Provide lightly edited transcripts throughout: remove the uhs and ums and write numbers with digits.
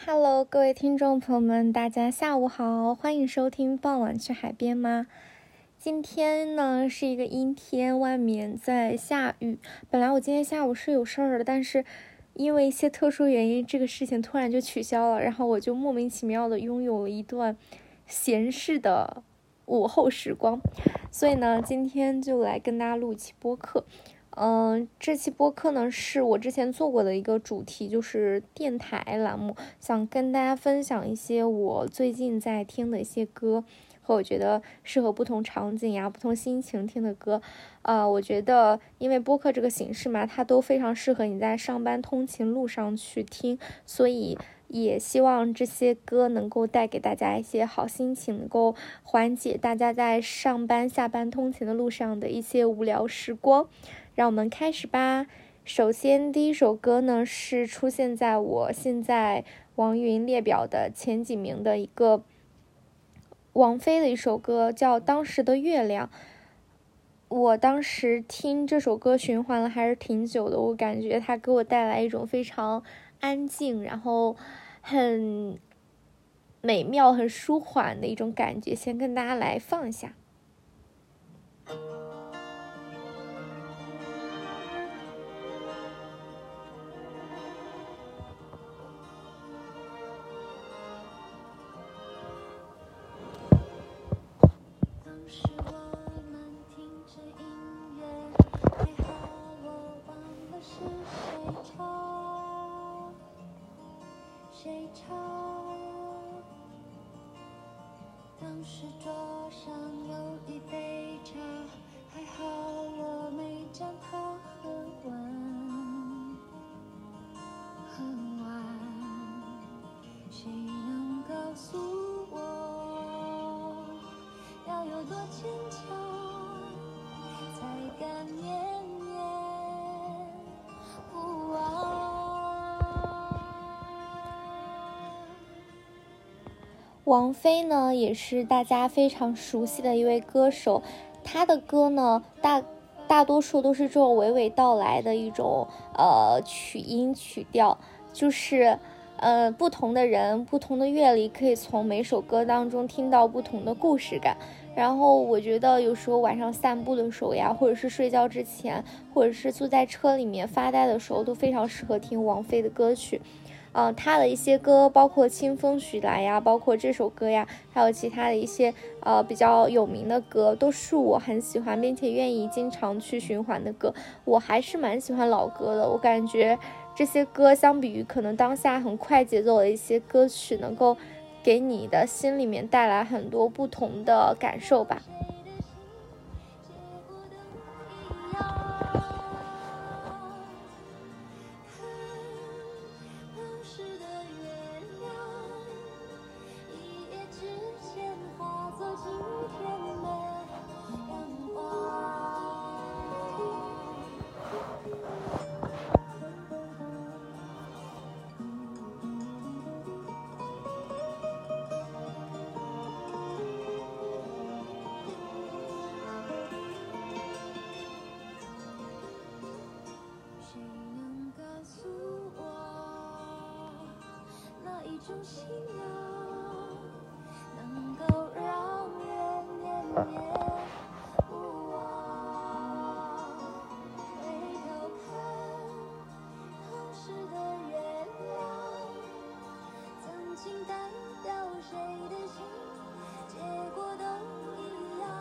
Hello，各位听众朋友们，大家下午好，欢迎收听傍晚去海边吗？今天呢是一个阴天，外面在下雨。本来我今天下午是有事儿的，但是因为一些特殊原因，这个事情突然就取消了，然后我就莫名其妙的拥有了一段闲适的午后时光。所以呢，今天就来跟大家录一期播客。这期播客呢是我之前做过的一个主题，就是电台栏目，想跟大家分享一些我最近在听的一些歌，和我觉得适合不同场景呀、不同心情听的歌。我觉得因为播客这个形式嘛，它都非常适合你在上班通勤路上去听，所以也希望这些歌能够带给大家一些好心情，能够缓解大家在上班、下班通勤的路上的一些无聊时光。让我们开始吧。首先，第一首歌呢是出现在我现在网易云列表的前几名的一个王菲的一首歌，叫《当时的月亮》。我当时听这首歌循环了还是挺久的，我感觉它给我带来一种非常安静，然后很美妙、很舒缓的一种感觉。先跟大家来放一下。 谁唱？当时桌上有一杯茶，还好我没将它喝完。喝完，谁能告诉我，要有多坚强，才敢念念不忘？ 王菲呢，也是大家非常熟悉的一位歌手，她的歌呢，大多数都是这种娓娓道来的一种曲音曲调，就是不同的人、不同的阅历，可以从每首歌当中听到不同的故事感。然后我觉得有时候晚上散步的时候呀，或者是睡觉之前，或者是坐在车里面发呆的时候，都非常适合听王菲的歌曲。他的一些歌，包括《清风徐来》呀，包括这首歌呀，还有其他的一些比较有名的歌，都是我很喜欢并且愿意经常去循环的歌。我还是蛮喜欢老歌的，我感觉这些歌相比于可能当下很快节奏的一些歌曲，能够给你的心里面带来很多不同的感受吧。 一种信仰能够让人念念不忘。回头看当时的月亮，曾经代表谁的心，结果都一样。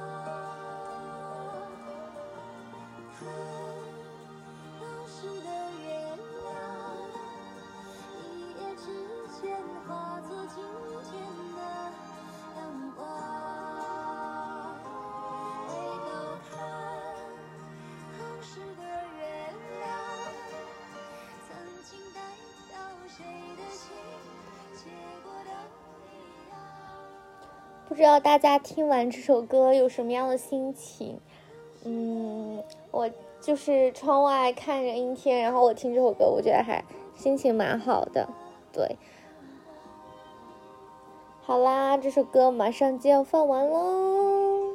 看当时的月亮，一夜之间化作今天的阳光。回头看当时的月亮，曾经代表谁的心，结果都一样。 不知道大家听完这首歌有什么样的心情？我就是窗外看着阴天，然后我听这首歌，我觉得还心情蛮好的。对，好啦，这首歌马上就要放完喽。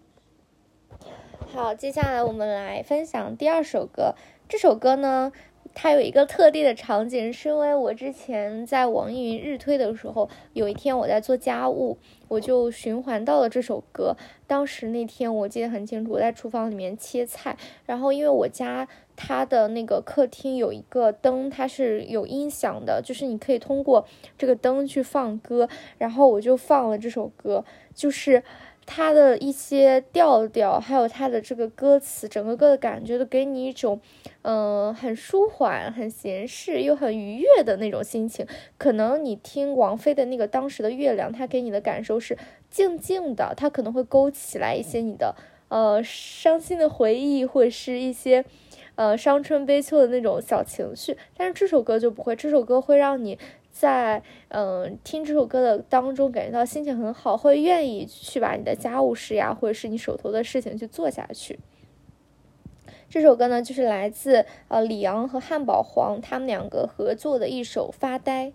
好，接下来我们来分享第二首歌。这首歌呢， 它有一个特定的场景，是因为我之前在网易云日推的时候，有一天我在做家务，我就循环到了这首歌。当时那天我记得很清楚，我在厨房里面切菜，然后因为我家它的那个客厅有一个灯，它是有音响的，就是你可以通过这个灯去放歌，然后我就放了这首歌，就是它的一些调调，还有它的这个歌词，整个歌的感觉都给你一种很舒缓、很闲适又很愉悦的那种心情。可能你听王菲的那个当时的月亮，它给你的感受是静静的，它可能会勾起来一些你的伤心的回忆，或者是一些伤春悲秋的那种小情绪。但是这首歌就不会，这首歌会让你在听这首歌的当中感觉到心情很好，会愿意去把你的家务事呀，或者是你手头的事情去做下去。这首歌呢，就是来自李阳和汉堡黄他们两个合作的一首《发呆》。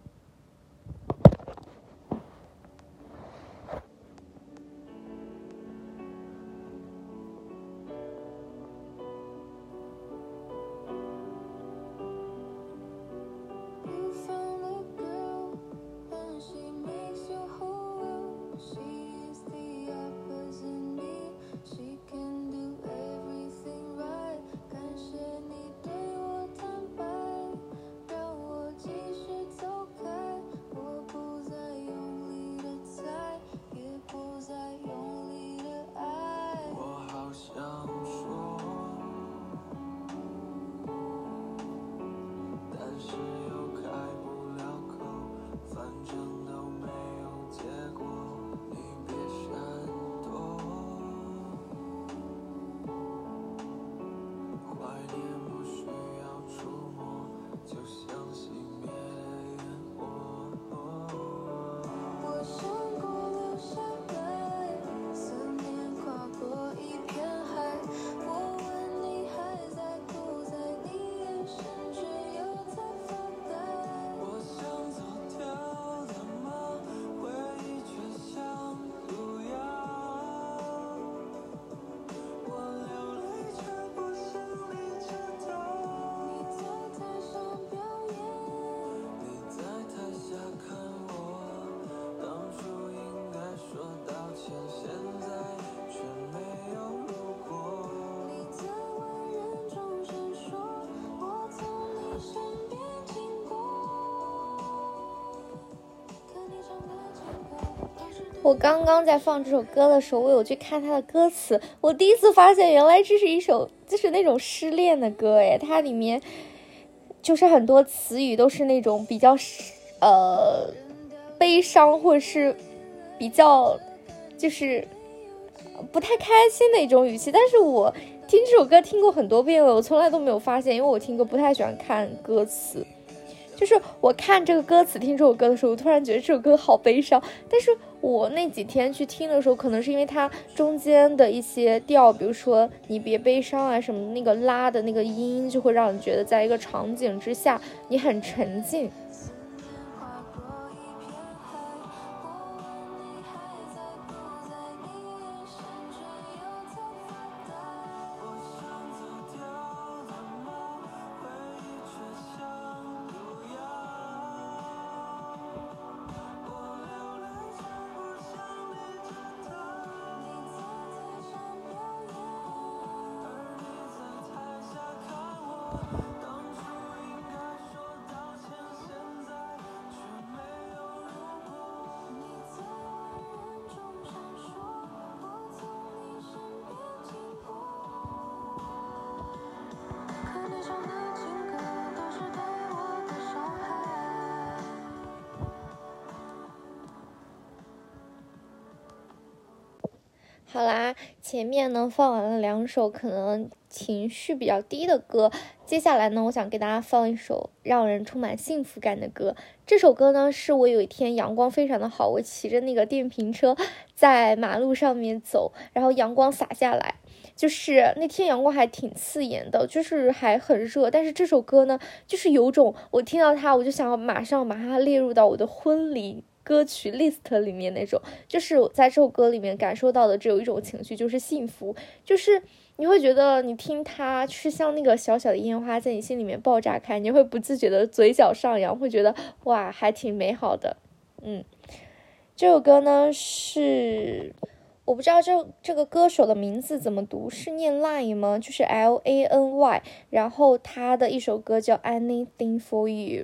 我刚刚在放这首歌的时候，我有去看它的歌词，我第一次发现原来这是一首就是那种失恋的歌诶，它里面就是很多词语都是那种比较悲伤或者是比较就是不太开心的一种语气，但是我听这首歌听过很多遍了，我从来都没有发现，因为我听歌不太喜欢看歌词，就是我看这个歌词听这首歌的时候，我突然觉得这首歌好悲伤，但是我那几天去听的时候，可能是因为它中间的一些调，比如说你别悲伤啊什么，那个拉的那个音就会让你觉得在一个场景之下你很沉浸。好啦，前面呢放完了2首可能情绪比较低的歌，接下来呢我想给大家放一首让人充满幸福感的歌。这首歌呢是我有一天阳光非常的好，我骑着那个电瓶车在马路上面走，然后阳光洒下来，就是那天阳光还挺刺眼的，就是还很热，但是这首歌呢就是有种我听到它我就想要马上把它列入到我的婚礼歌曲 list 里面那种，就是我在这首歌里面感受到的只有一种情绪，就是幸福，就是你会觉得你听它是像那个小小的烟花在你心里面爆炸开，你会不自觉的嘴角上扬，会觉得哇还挺美好的。这首歌呢是我不知道这个歌手的名字怎么读，是念 Lany 吗？就是 Lany， 然后他的一首歌叫 Anything for You。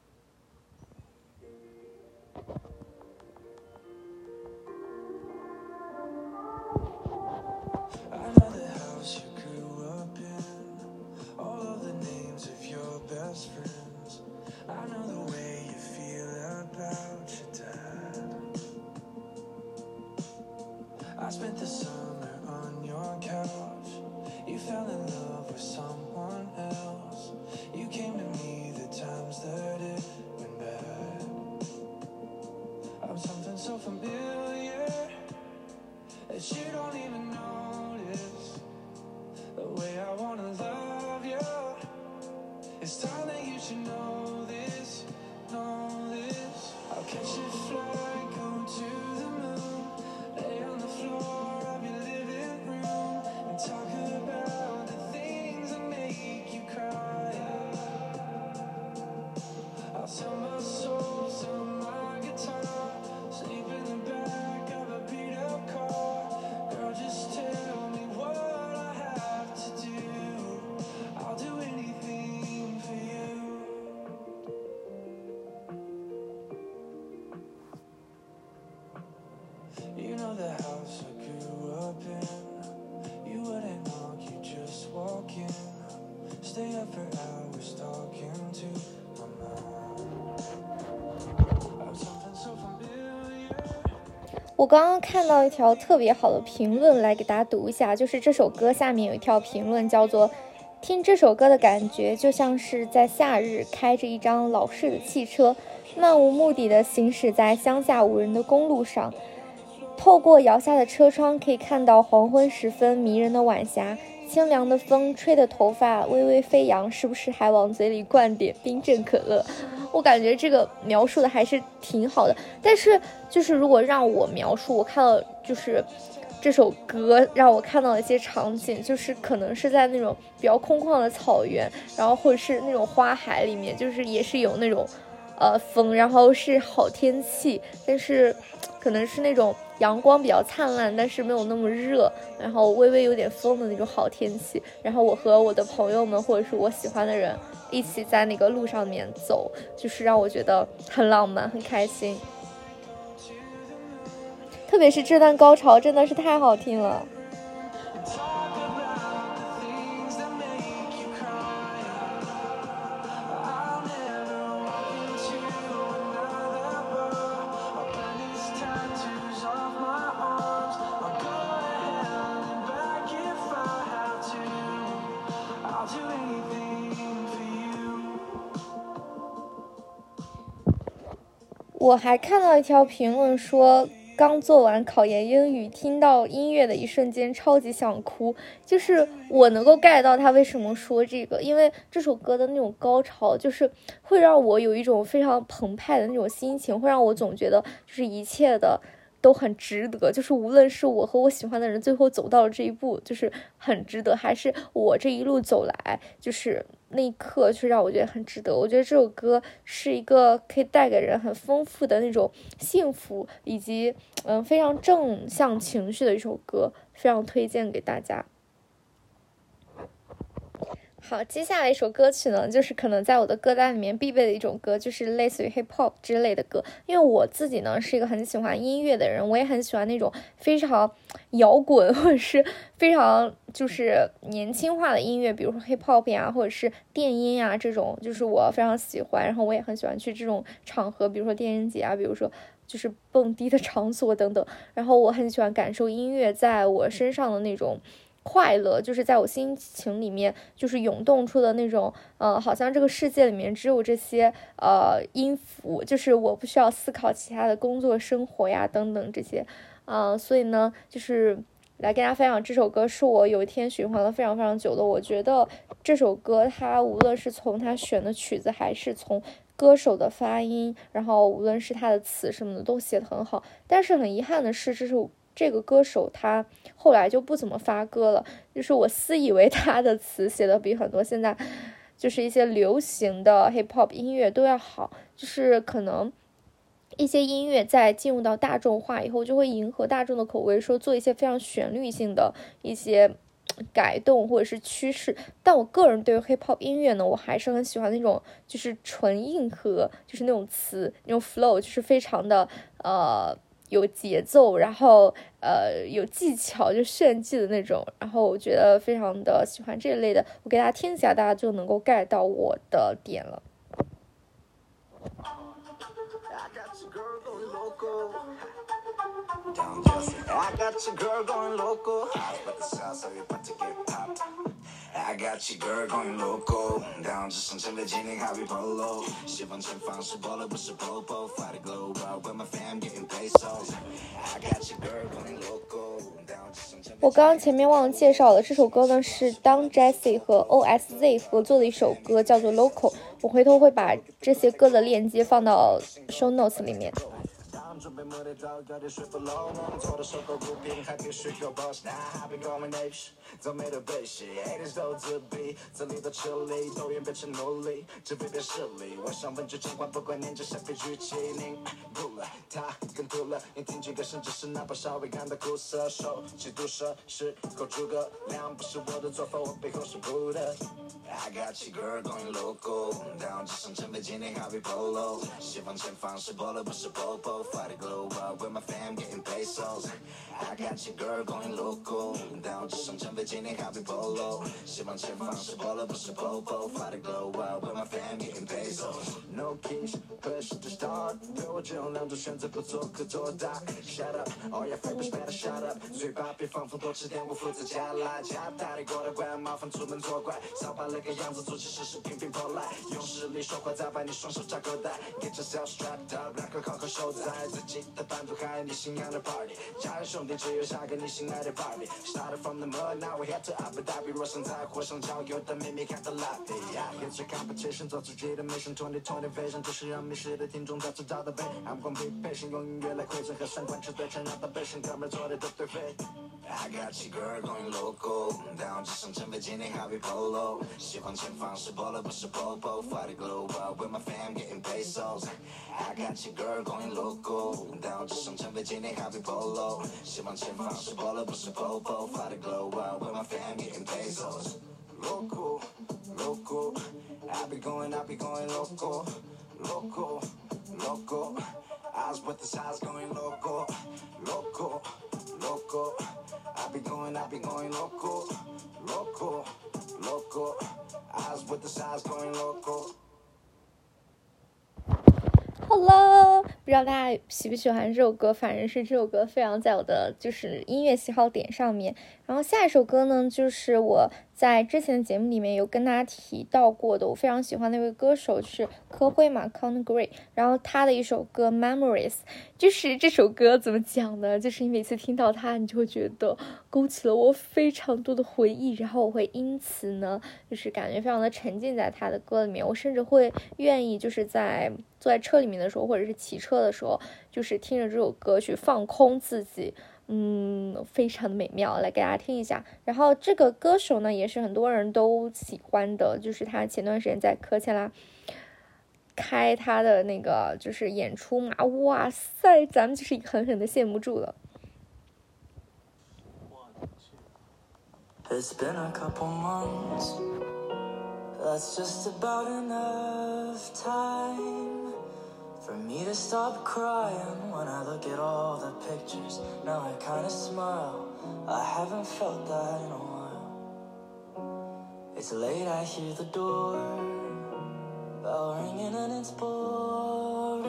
I spent the summer on your couch. You fell in love with someone else. You came to me the times that it went bad. I'm something so familiar that you don't even notice. The way I wanna love you. It's time that you should know this, know this. I'll catch a flight, go to the moon, lay on the floor of your living room and talk about the things that make you cry. I'll sell my soul, sell my guitar, sleep in the back of a beat up car. Girl, just tell me what I have to do. I'll do anything for you. You know the house I grew up in. You wouldn't knock, you just walk in. Stay up for hours talking to my mom. I'm something so familiar. 我刚刚看到一条特别好的评论，来给大家读一下，就是这首歌下面有一条评论叫做听这首歌的感觉就像是在夏日开着一张老式的汽车，漫无目的的行驶在乡下无人的公路上，透过摇下的车窗可以看到黄昏时分迷人的晚霞，清凉的风吹得头发微微飞扬，时不时还往嘴里灌点冰镇可乐。我感觉这个描述的还是挺好的，但是就是如果让我描述，我看到就是这首歌让我看到一些场景，就是可能是在那种比较空旷的草原，然后或者是那种花海里面，就是也是有那种风，然后是好天气，但是可能是那种阳光比较灿烂，但是没有那么热，然后微微有点风的那种好天气。然后我和我的朋友们或者是我喜欢的人一起在那个路上面走，就是让我觉得很浪漫很开心，特别是这段高潮真的是太好听了。我还看到一条评论说，刚做完考研英语，听到音乐的一瞬间超级想哭，就是我能够 get 到他为什么说这个，因为这首歌的那种高潮就是会让我有一种非常澎湃的那种心情，会让我总觉得就是一切的都很值得，就是无论是我和我喜欢的人最后走到了这一步，就是很值得，还是我这一路走来，就是那一刻就让我觉得很值得。我觉得这首歌是一个可以带给人很丰富的那种幸福以及非常正向情绪的一首歌，非常推荐给大家。好，接下来一首歌曲呢，就是可能在我的歌单里面必备的一种歌，就是类似于 hip hop 之类的歌。因为我自己呢是一个很喜欢音乐的人，我也很喜欢那种非常摇滚或者是非常就是年轻化的音乐，比如说 hip hop 呀，或者是电音呀这种，就是我非常喜欢。然后我也很喜欢去这种场合，比如说电音节啊，比如说就是蹦迪的场所等等。然后我很喜欢感受音乐在我身上的那种快乐，就是在我心情里面就是涌动出的那种好像这个世界里面只有这些音符，就是我不需要思考其他的工作生活呀等等这些所以呢就是来跟大家分享这首歌是我有一天循环了非常非常久的。我觉得这首歌它无论是从它选的曲子还是从歌手的发音，然后无论是他的词什么的都写得很好，但是很遗憾的是这首这个歌手他后来就不怎么发歌了，就是我私以为他的词写的比很多现在就是一些流行的 hip hop 音乐都要好，就是可能一些音乐在进入到大众化以后，就会迎合大众的口味，说做一些非常旋律性的一些改动或者是趋势。但我个人对于 hip hop 音乐呢，我还是很喜欢那种就是纯硬核，就是那种词那种 flow，就是非常的有节奏，然后有技巧，就炫技的那种。然后我觉得非常的喜欢这一类的，我给大家听一下，大家就能够 get 到我的点了。 Down Jesse, I got your girl going loco. But the south, so you about to get popped. I got your girl going loco. Down 只剩成了今天 Harry Polo. 西方前方是 Polo 不是 Popo. Fight the globe out with my fam getting pesos. I got your girl going loco. Down 只剩成了。 我刚刚前面忘了介绍了，这首歌呢是当 Jessie 和 OSZ 合作的一首歌，叫做 Local。我回头会把这些歌的链接放到 show notes 里面。 准备摸得到，有点睡不牢。我做的收购股评，还必须有 boss。I've been going nation， 早没得背戏 ，haters 都自闭，这里的吃力，都愿变成奴隶，只为变势力。我想问句真话，不管年纪谁被举起，您不了，他更吐了。你听几个甚至是哪怕稍微感到苦涩，手起毒舌，是口诸葛亮，不是我的做法，我背后是不的。I got your girl going loco， down 只剩成为今天 Harry Polo， 西方前方是 Polo 不是 Popo。Fight the globe out with my fam getting pesos. I got your girl going loco. Down 只剩成为今天 Harry Polo. 希望前方是 Polo 不是 Popo. Fight the globe out with my fam getting pesos. No keys, push to start. 对我只有两种选择，不做可做大。Shut up, all your rappers better shut up. 嘴巴别放风，多吃点我负责加辣加大力过来怪，麻烦出门作怪。少把那个样子做起事实频频跑来，用实力说话，再把你双手扎口袋。Get yourself strapped up， 然后好好守在。自己的版图还有你信仰的 party， 家人兄弟只有下个你心爱的 Barbie。Started from the mud, now we head to Abu Dhabi。若身在火上浇油的秘密看到蜡笔。Here's your competition， 做自己的 mission， 2020 vision， 就是让迷失的听众再次找到北。I'm gonna be patient， 用音乐来馈赠和三观吃对称，让到背身哥们做的都对飞。I got your girl going loco， down 只剩成为今天 Harry Polo。喜欢前方是 Polo 不是 Popo。Fight the globe out with my fam getting pesos。I got your girl going loco。down 只剩成为今天 Harry Polo， 希望前方是 Polo 不是 Popo。Fight the globe out with my fam getting pesos。Loco, loco, I be going loco, loco, loco. Eyes with the size going loco, loco, loco. I be going loco, loco, loco. Eyes with the size going loco. 好了，不知道大家喜不喜欢这首歌，反正是这首歌非常在我的就是音乐喜好点上面。然后下一首歌呢，就是我在之前的节目里面有跟大家提到过的，我非常喜欢的一位歌手是柯辉嘛 Conor Gray， 然后他的一首歌 Memories， 就是这首歌怎么讲呢，就是你每次听到它，你就会觉得勾起了我非常多的回忆，然后我会因此呢就是感觉非常的沉浸在他的歌里面，我甚至会愿意就是坐在车里面的时候，或者是骑车的时候，就是听着这首歌去放空自己，非常的美妙，来给大家听一下。然后这个歌手呢，也是很多人都喜欢的，就是他前段时间在科切拉开他的那个就是演出嘛，哇塞，咱们就是狠狠的羡慕住了。 It's been a couple months, that's just about enough time for me to stop crying when I look at all the pictures. Now I kinda smile, I haven't felt that in a while. It's late, I hear the door bell ringing and it's boring.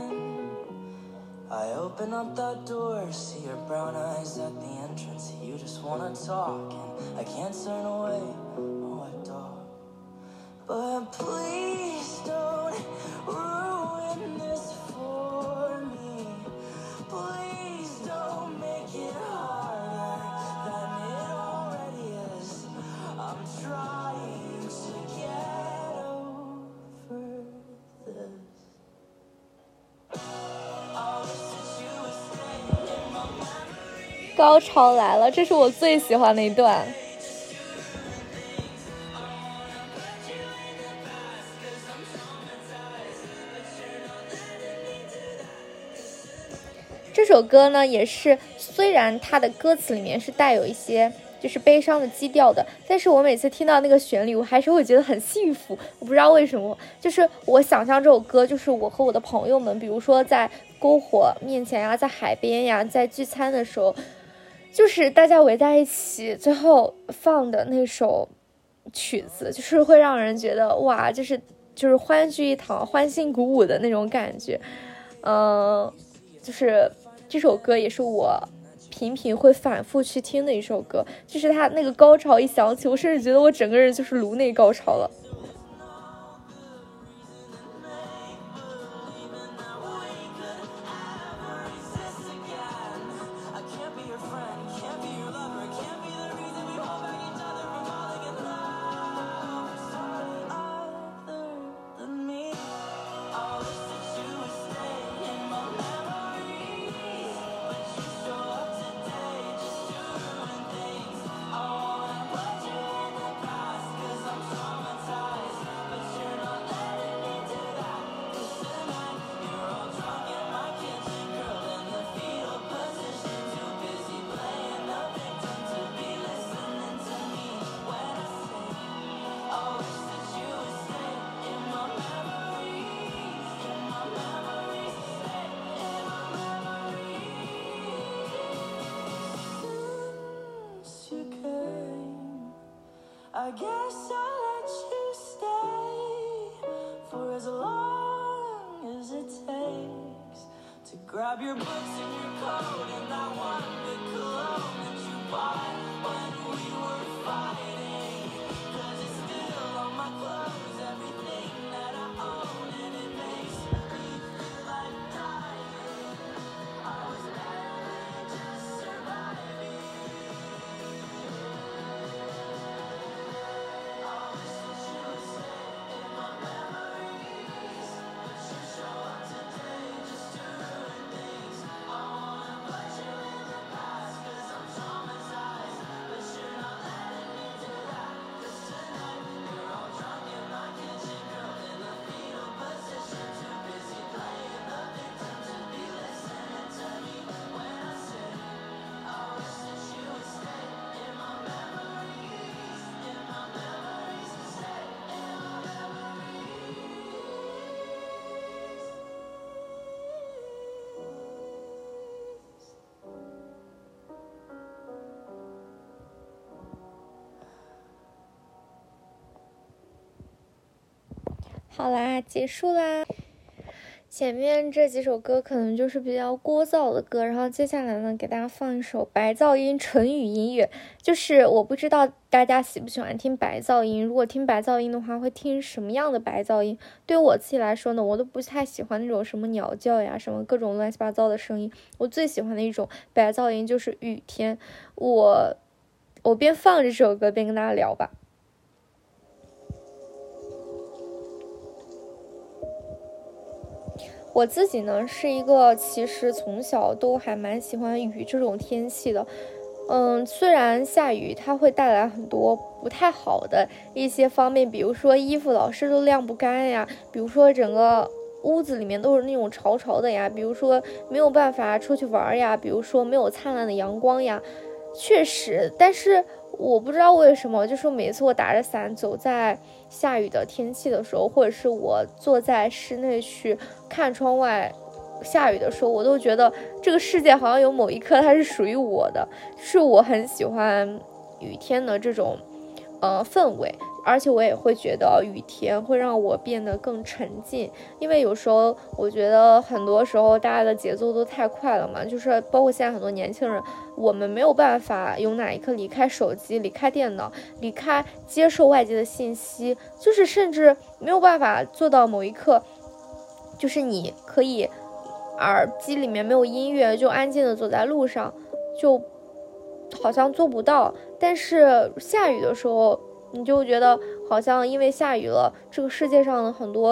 I open up that door, see your brown eyes at the entrance. You just wanna talk and I can't turn away. Oh, I dog. But please don't ruin this for me. Please don't make it harder than it already is. I'm trying to get over this. I wish that you would stay in my memory. 高潮来了，这是我最喜欢的一段。这首歌呢，也是虽然它的歌词里面是带有一些就是悲伤的基调的，但是我每次听到那个旋律，我还是会觉得很幸福。我不知道为什么，就是我想象这首歌，就是我和我的朋友们，比如说在篝火面前呀，在海边呀，在聚餐的时候，就是大家围在一起，最后放的那首曲子，就是会让人觉得哇，就是欢聚一堂、欢欣鼓舞的那种感觉。就是这首歌也是我频频会反复去听的一首歌，就是它那个高潮一响起，我甚至觉得我整个人就是颅内高潮了。 I guess I'll let you stay for as long as it takes to grab your books and your coat and that one big cologne that you bought when we were fighting. 'Cause it's still on my clothes, everything that I own, and it makes me feel like dying. I was barely just surviving. 好啦，结束啦。前面这几首歌可能就是比较聒噪的歌，然后接下来呢，给大家放一首白噪音纯语音乐。就是我不知道大家喜不喜欢听白噪音，如果听白噪音的话，会听什么样的白噪音？对于我自己来说呢，我都不太喜欢那种什么鸟叫呀，什么各种乱七八糟的声音。我最喜欢的一种白噪音就是雨天。我边放这首歌边跟大家聊吧。我自己呢是一个其实从小都还蛮喜欢雨这种天气的，虽然下雨它会带来很多不太好的一些方面，比如说衣服老是都晾不干呀，比如说整个屋子里面都是那种潮潮的呀，比如说没有办法出去玩呀，比如说没有灿烂的阳光呀，确实，但是我不知道为什么，就是每次我打着伞走在下雨的天气的时候，或者是我坐在室内去看窗外下雨的时候，我都觉得这个世界好像有某一刻它是属于我的，是我很喜欢雨天的这种氛围，而且我也会觉得雨天会让我变得更沉静，因为有时候我觉得很多时候大家的节奏都太快了嘛，就是包括现在很多年轻人，我们没有办法有哪一刻离开手机，离开电脑，离开接受外界的信息，就是甚至没有办法做到某一刻，就是你可以耳机里面没有音乐就安静的走在路上，就好像做不到。但是下雨的时候你就觉得好像因为下雨了，这个世界上的很多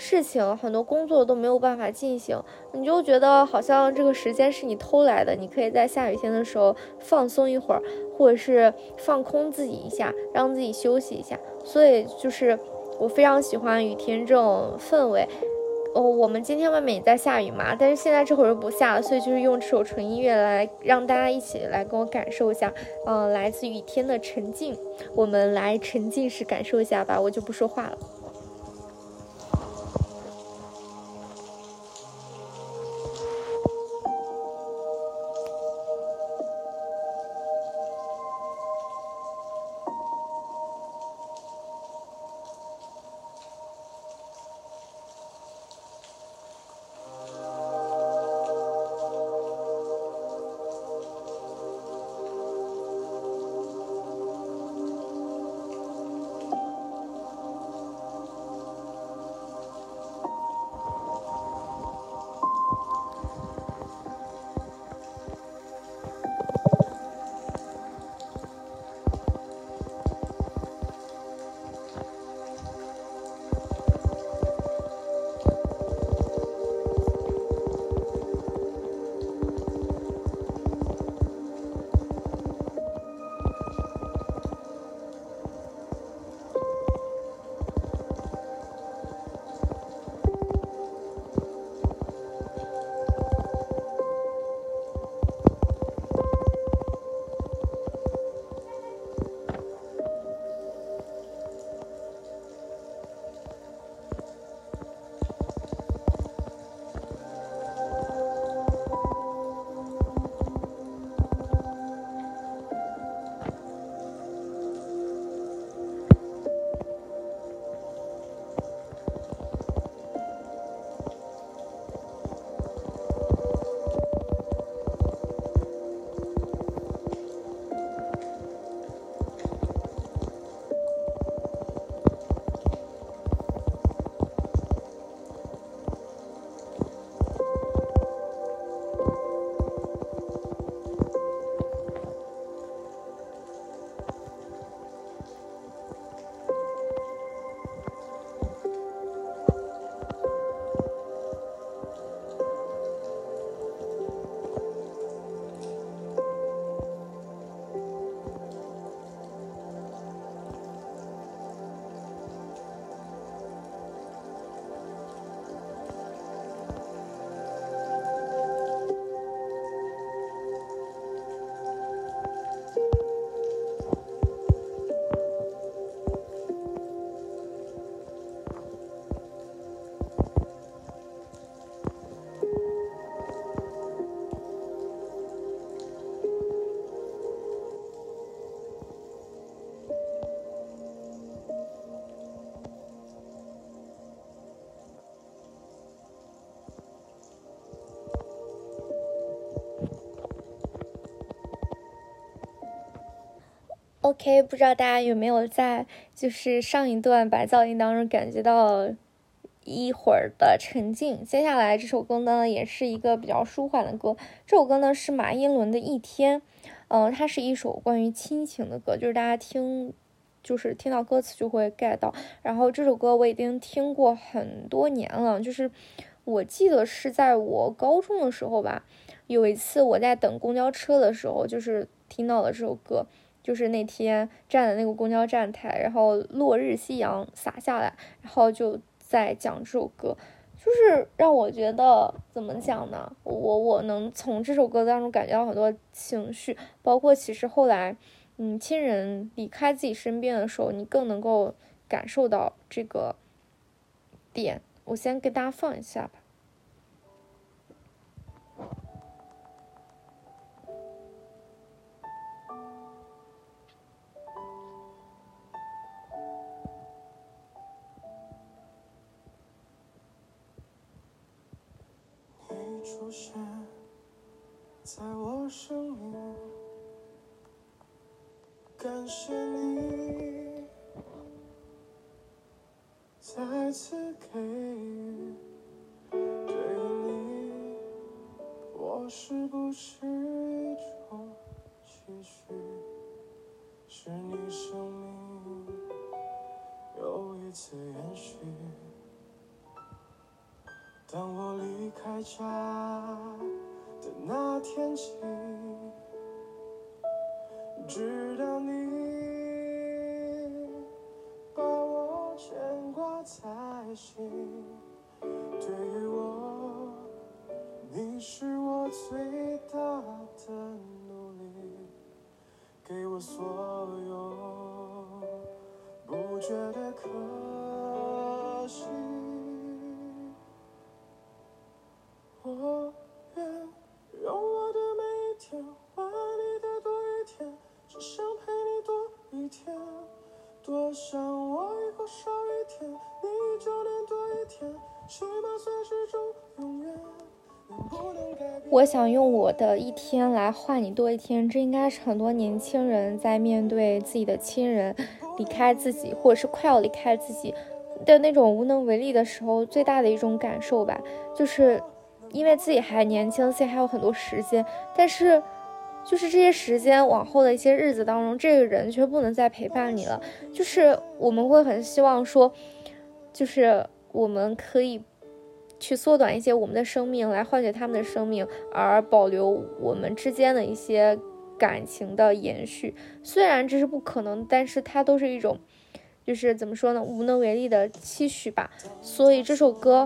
事情、很多工作都没有办法进行，你就觉得好像这个时间是你偷来的，你可以在下雨天的时候放松一会儿，或者是放空自己一下，让自己休息一下。所以就是我非常喜欢雨天这种氛围。我们今天外面也在下雨嘛，但是现在这会儿又不下了，所以就是用这首纯音乐来让大家一起来跟我感受一下，来自雨天的沉浸，我们来沉浸式感受一下吧，我就不说话了。OK， 不知道大家有没有在就是上一段白噪音当中感觉到一会儿的沉静。接下来这首歌呢也是一个比较舒缓的歌，这首歌呢是马英伦的《一天》，它是一首关于亲情的歌，就是大家听到歌词就会 get 到。然后这首歌我已经听过很多年了，就是我记得是在我高中的时候吧，有一次我在等公交车的时候，就是听到了这首歌。就是那天站的那个公交站台，然后落日夕阳洒下来，然后就在讲这首歌，就是让我觉得怎么讲呢？我能从这首歌当中感觉到很多情绪，包括其实后来，亲人离开自己身边的时候，你更能够感受到这个点。我先给大家放一下吧。 出现在我生命，感谢你再次给予，对你，我是不是一种期许？是你生命又一次延续。 当我离开家的那天起，直到你把我牵挂在心，对于我，你是我最大的努力，给我所有，不觉得可惜。我愿用我的每一天换你的多一天，只想陪你多一天，多想我以后少一天，你就能多一天，起码算是种永远。 我想用我的一天来换你多一天，这应该是很多年轻人在面对自己的亲人离开自己，或者是快要离开自己的那种无能为力的时候最大的一种感受吧。就是因为自己还年轻，自己还有很多时间，但是就是这些时间往后的一些日子当中，这个人却不能再陪伴你了。就是我们会很希望说，就是我们可以去缩短一些我们的生命，来换取他们的生命，而保留我们之间的一些感情的延续。虽然这是不可能，但是它都是一种，就是怎么说呢，无能为力的期许吧。所以这首歌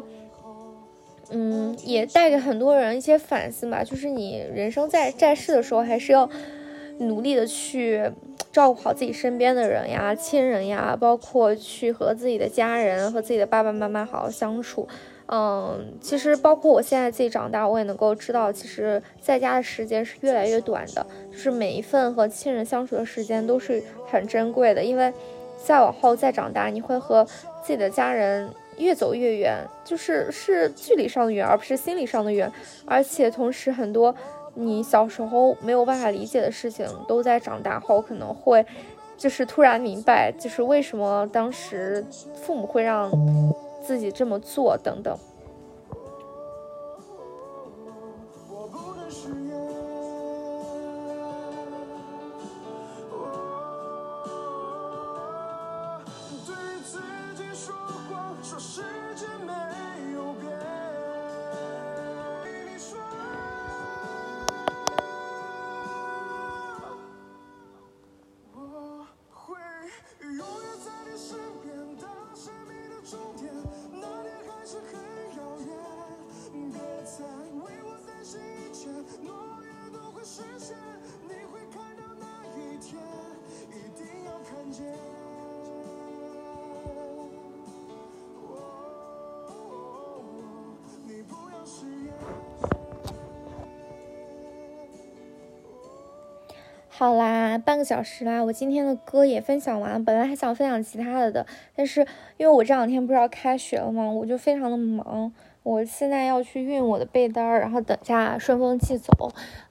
也带给很多人一些反思吧，就是你人生在世的时候，还是要努力的去照顾好自己身边的人呀、亲人呀，包括去和自己的家人和自己的爸爸妈妈好好相处。其实包括我现在自己长大，我也能够知道，其实在家的时间是越来越短的，就是每一份和亲人相处的时间都是很珍贵的，因为再往后再长大，你会和自己的家人越走越远，是距离上的远，而不是心理上的远。而且同时很多你小时候没有办法理解的事情，都在长大后可能会就是突然明白，就是为什么当时父母会让自己这么做等等。 我不能食言，对自己说谎，说世界没有变。你说我会永远在你身边，到生命的终点，那天还是很遥远。别再为我担心一切，诺言都会实现，你会看到那一天，一定要看见。你不要食言。 好啦，半个小时啦，我今天的歌也分享完，本来还想分享其他的，但是因为我这两天不是要开学了吗，我就非常的忙，我现在要去运我的被单，然后等下顺丰寄走。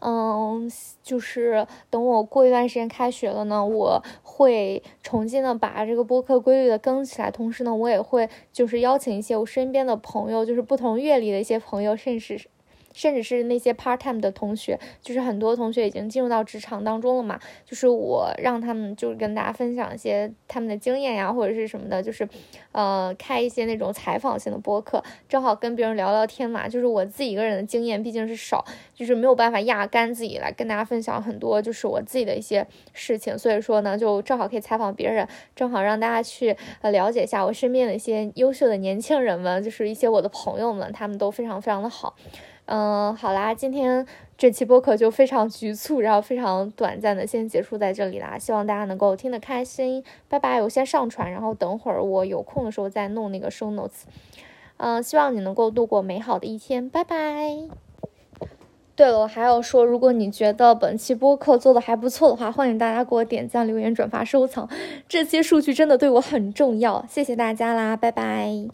就是等我过一段时间开学了呢，我会重新的把这个播客规律的更起来，同时呢，我也会就是邀请一些我身边的朋友，就是不同阅历的一些朋友，甚至是那些 part time 的同学，就是很多同学已经进入到职场当中了嘛，就是我让他们就是跟大家分享一些他们的经验呀，或者是什么的，就是开一些那种采访性的播客，正好跟别人聊聊天嘛。就是我自己一个人的经验毕竟是少，就是没有办法压干自己来跟大家分享很多就是我自己的一些事情，所以说呢，就正好可以采访别人，正好让大家去了解一下我身边的一些优秀的年轻人们，就是一些我的朋友们，他们都非常非常的好。好啦，今天这期播客就非常局促，然后非常短暂的先结束在这里啦，希望大家能够听得开心，拜拜。我先上传，然后等会儿我有空的时候再弄那个 show notes。希望你能够度过美好的一天，拜拜。对了，我还要说，如果你觉得本期播客做的还不错的话，欢迎大家给我点赞、留言、转发、收藏，这些数据真的对我很重要，谢谢大家啦，拜拜。